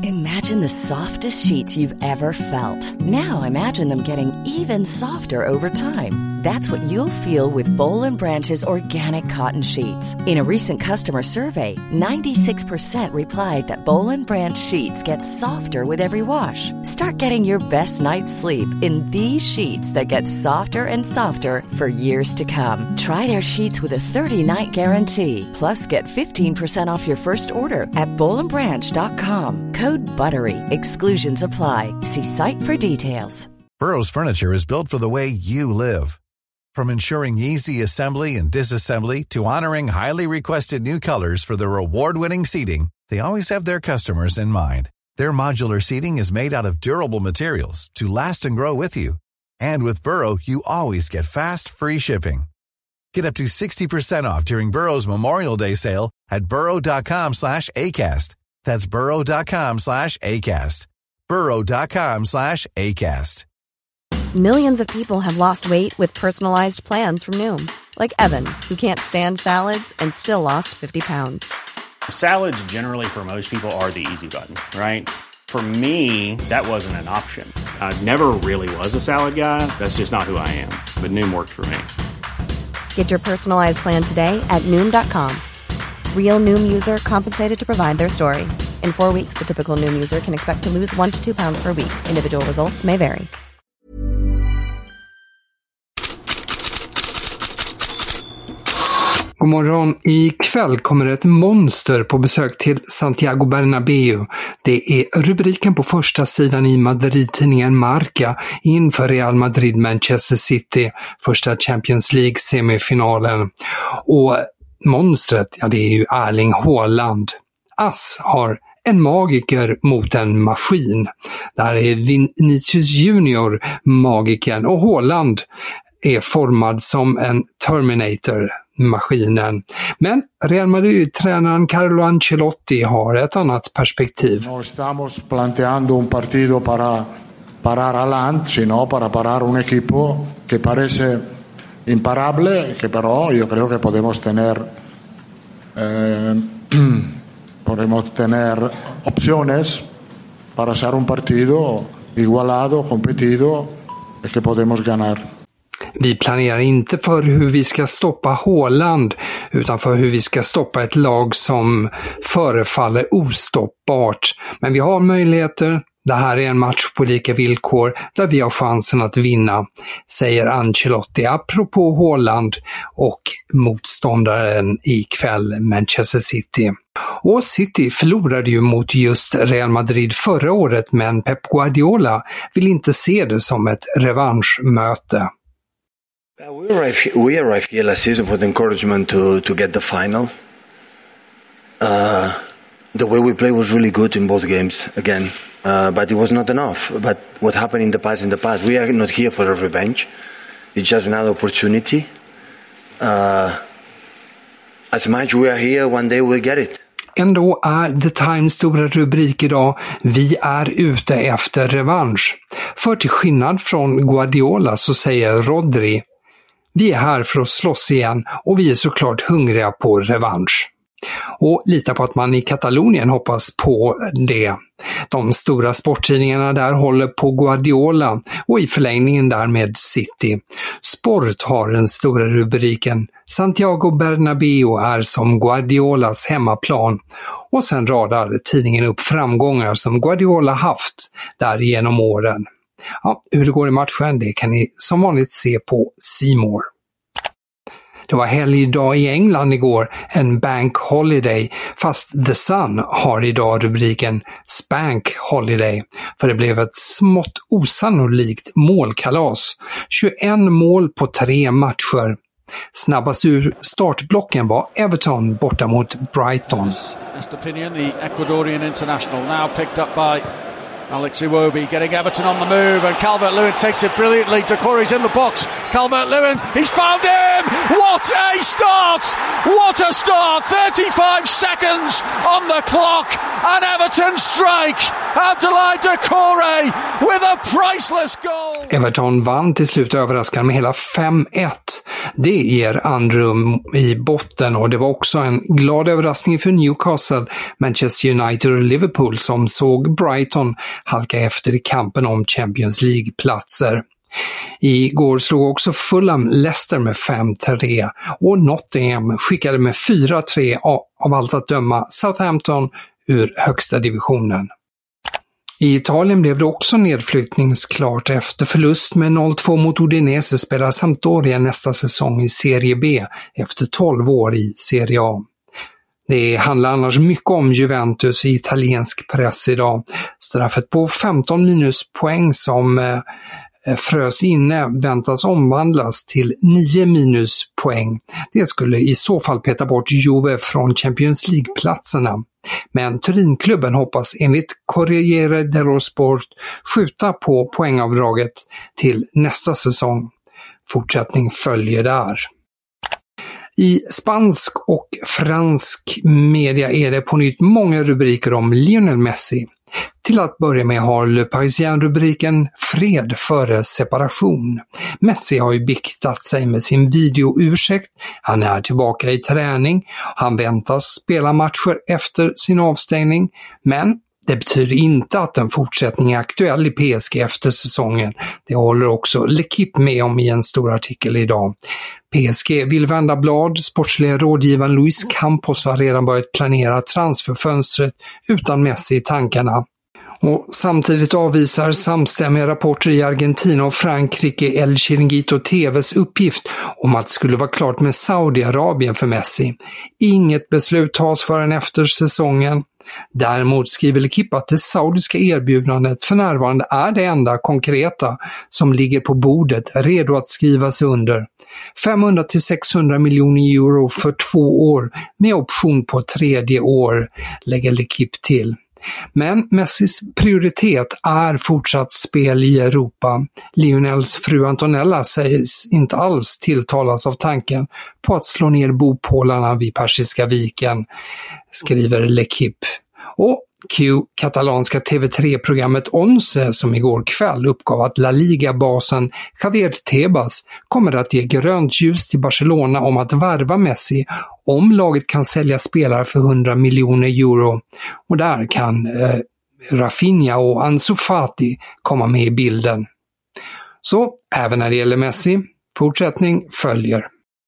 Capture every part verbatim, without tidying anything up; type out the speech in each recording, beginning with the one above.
Imagine the softest sheets you've ever felt. Now imagine them getting even softer over time. That's what you'll feel with Boll and Branch's organic cotton sheets. In a recent customer survey, ninety-six percent replied that Boll and Branch sheets get softer with every wash. Start getting your best night's sleep in these sheets that get softer and softer for years to come. Try their sheets with a thirty-night guarantee. Plus, get fifteen percent off your first order at boll and branch dot com. Code BUTTERY. Exclusions apply. See site for details. Burrow's furniture is built for the way you live. From ensuring easy assembly and disassembly to honoring highly requested new colors for their award-winning seating, they always have their customers in mind. Their modular seating is made out of durable materials to last and grow with you. And with Burrow, you always get fast, free shipping. Get up to sixty percent off during Burrow's Memorial Day sale at burrow.com slash ACAST. That's burrow.com slash ACAST. burrow.com slash ACAST. Millions of people have lost weight with personalized plans from Noom. Like Evan, who can't stand salads and still lost fifty pounds. Salads generally for most people are the easy button, right? For me, that wasn't an option. I never really was a salad guy. That's just not who I am. But Noom worked for me. Get your personalized plan today at noom dot com. Real Noom user compensated to provide their story. In four weeks, the typical Noom user can expect to lose one to two pounds per week. Individual results may vary. God morgon. Ikväll kommer ett monster på besök till Santiago Bernabéu. Det är rubriken på första sidan i Madrid-tidningen Marca inför Real Madrid-Manchester City, första Champions League-semifinalen. Och monstret, ja det är ju Erling Haaland. Ass har en magiker mot en maskin. Där är Vinicius Junior magiken och Haaland är formad som en Terminator-maskinen. Men Real Madrid-tränaren Carlo Ancelotti har ett annat perspektiv. No estamos planteando un partido para parar a Land, sino para parar un equipo que parece imparable, que pero yo creo que podemos tener eh, podemos tener opciones para hacer un partido igualado, competido, y que podemos ganar. Vi planerar inte för hur vi ska stoppa Haaland utan för hur vi ska stoppa ett lag som förefaller ostoppbart. Men vi har möjligheter. Det här är en match på lika villkor där vi har chansen att vinna, säger Ancelotti apropå Haaland och motståndaren ikväll Manchester City. Och City förlorade ju mot just Real Madrid förra året, men Pep Guardiola vill inte se det som ett revanschmöte. We arrived, we arrived here last season with encouragement to, to get the final. Uh, the way we played was really good in both games, again. Uh, but it was not enough. But what happened in the past, in the past, we are not here for a revenge. It's just another opportunity. Uh, as much we are here, one day we'll get it. Ändå är The Times stora rubrik idag: vi är ute efter revansch. För till skillnad från Guardiola så säger Rodri: vi är här för att slåss igen och vi är såklart hungriga på revansch. Och lita på att man i Katalonien hoppas på det. De stora sporttidningarna där håller på Guardiola och i förlängningen där med City. Sport har den stora rubriken: Santiago Bernabéu är som Guardiolas hemmaplan. Och sen radar tidningen upp framgångar som Guardiola haft där genom åren. Ja, hur det går i matchen, det kan ni som vanligt se på C More. Det var helgdag i England igår, en bank holiday, fast The Sun har idag rubriken Spank Holiday, för det blev ett smått osannolikt målkalas. tjugoett mål på tre matcher. Snabbast ur startblocken var Everton borta mot Brighton. Best opinion, the Ecuadorian international now picked up by Alex Iwobi, getting Everton on the move, and Calvert-Lewin takes it brilliantly. Doucouré's in the box. Calvert-Lewin, he's found him! What a start! What a start! thirty-five seconds on the clock, and Everton strike. Abdoulaye Doucouré with a priceless goal. Everton vann till slut överraskande med hela fem ett. Det ger andrum i botten och det var också en glad överraskning för Newcastle, Manchester United och Liverpool som såg Brighton halka efter i kampen om Champions League-platser. Igår slog också Fulham Leicester med fem tre och Nottingham skickade med fyra tre av allt att döma Southampton ur högsta divisionen. I Italien blev det också nedflyttningsklart efter förlust med noll två mot Udinese spelar Sampdoria nästa säsong i Serie B efter tolv år i Serie A. Det handlar annars mycket om Juventus i italiensk press idag. Straffet på femton minuspoäng som eh, frös inne väntas omvandlas till nio minuspoäng. Det skulle i så fall peta bort Juve från Champions League-platserna. Men Turinklubben hoppas enligt Corriere dello Sport skjuta på poängavdraget till nästa säsong. Fortsättning följer där. I spansk och fransk media är det på nytt många rubriker om Lionel Messi. Till att börja med har Le Parisien rubriken Fred före separation. Messi har ju biktat sig med sin videoursäkt. Han är tillbaka i träning. Han väntas spela matcher efter sin avstängning. Men det betyder inte att en fortsättning är aktuell i P S G efter säsongen. Det håller också L'Equipe med om i en stor artikel idag. P S G vill vända blad. Sportsliga rådgivaren Luis Campos har redan börjat planera transferfönstret utan Messi i tankarna. Och samtidigt avvisar samstämmiga rapporter i Argentina och Frankrike El Chiringuito T V:s uppgift om att det skulle vara klart med Saudiarabien för Messi. Inget beslut tas förrän efter säsongen. Däremot skriver L'Equipe att det saudiska erbjudandet för närvarande är det enda konkreta som ligger på bordet redo att skrivas under. femhundra till sexhundra miljoner euro för två år med option på tredje år, lägger L'Equipe till. Men Messis prioritet är fortsatt spel i Europa. Lionels fru Antonella sägs inte alls tilltalas av tanken på att slå ner bopålarna vid Persiska viken, skriver L'Equipe. Och Q, katalanska T V tre-programmet Once som igår kväll uppgav att La Liga-basen Javier Tebas kommer att ge grönt ljus till Barcelona om att värva Messi om laget kan sälja spelare för hundra miljoner euro. Och där kan eh, Rafinha och Ansu Fati komma med i bilden. Så även när det gäller Messi, fortsättning följer.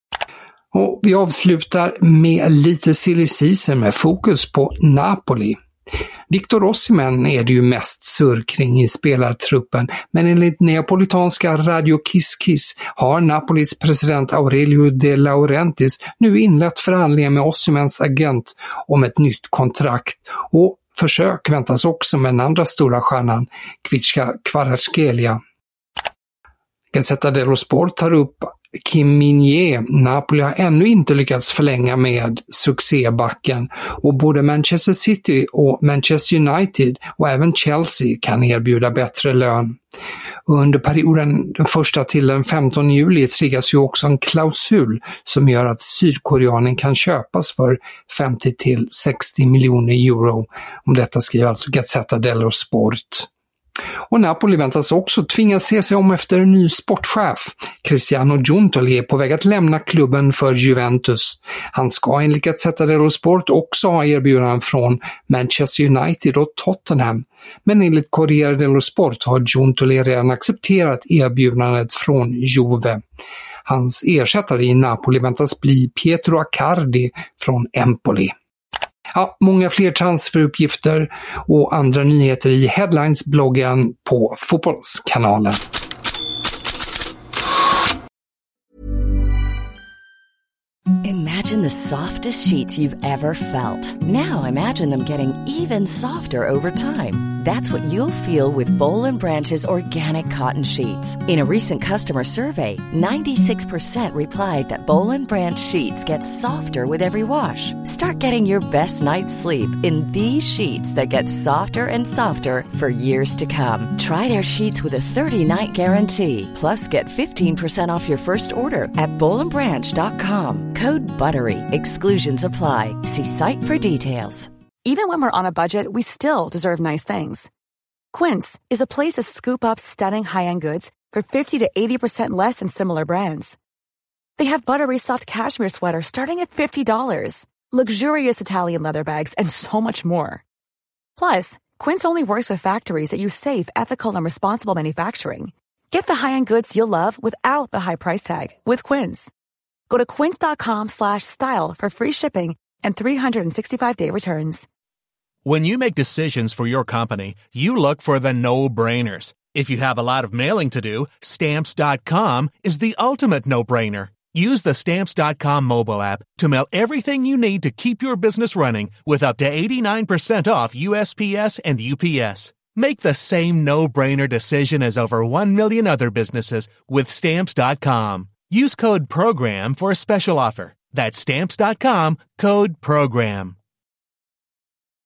Och vi avslutar med lite silly season med fokus på Napoli. Victor Osimhen är det ju mest surr kring i spelartruppen, men enligt neapolitanska Radio Kiss Kiss har Napolis president Aurelio De Laurentiis nu inlett förhandlingar med Osimhens agent om ett nytt kontrakt, och försök väntas också med den andra stora stjärnan, Kvicha Kvaratskhelia. Gazzetta dello Sport tar upp Kim Min-jae. Napoli har ännu inte lyckats förlänga med succébacken, och både Manchester City och Manchester United och även Chelsea kan erbjuda bättre lön. Under perioden den första till den femtonde juli triggas ju också en klausul som gör att sydkoreanen kan köpas för femtio till sextio miljoner euro. Om detta skriver alltså Gazzetta dello Sport. Och Napoli väntas också tvingas se sig om efter en ny sportchef. Cristiano Giuntoli är på väg att lämna klubben för Juventus. Han ska enligt Gazzetta dello Sport också ha erbjudanden från Manchester United och Tottenham. Men enligt Corriere dello Sport har Giuntoli redan accepterat erbjudandet från Juve. Hans ersättare i Napoli väntas bli Pietro Accardi från Empoli. Ja, många fler transferuppgifter och andra nyheter i Headlines-bloggen på Fotbollskanalen. Imagine the softest sheets you've ever felt. Now imagine them getting even softer over time. That's what you'll feel with Boll and Branch's organic cotton sheets. In a recent customer survey, ninety-six percent replied that Boll and Branch sheets get softer with every wash. Start getting your best night's sleep in these sheets that get softer and softer for years to come. Try their sheets with a thirty-night guarantee. Plus, get fifteen percent off your first order at boll and branch dot com. Code BUTTERY. Exclusions apply. See site for details. Even when we're on a budget, we still deserve nice things. Quince is a place to scoop up stunning high-end goods for fifty to eighty percent less than similar brands. They have buttery soft cashmere sweaters starting at fifty dollars, luxurious Italian leather bags, and so much more. Plus, Quince only works with factories that use safe, ethical, and responsible manufacturing. Get the high-end goods you'll love without the high price tag with Quince. Go to quince.com slash style for free shipping and three sixty-five day returns. When you make decisions for your company, you look for the no-brainers. If you have a lot of mailing to do, Stamps dot com is the ultimate no-brainer. Use the Stamps dot com mobile app to mail everything you need to keep your business running with up to eighty-nine percent off U S P S and U P S. Make the same no-brainer decision as over one million other businesses with Stamps dot com. Use code PROGRAM for a special offer. That's Stamps dot com, code PROGRAM.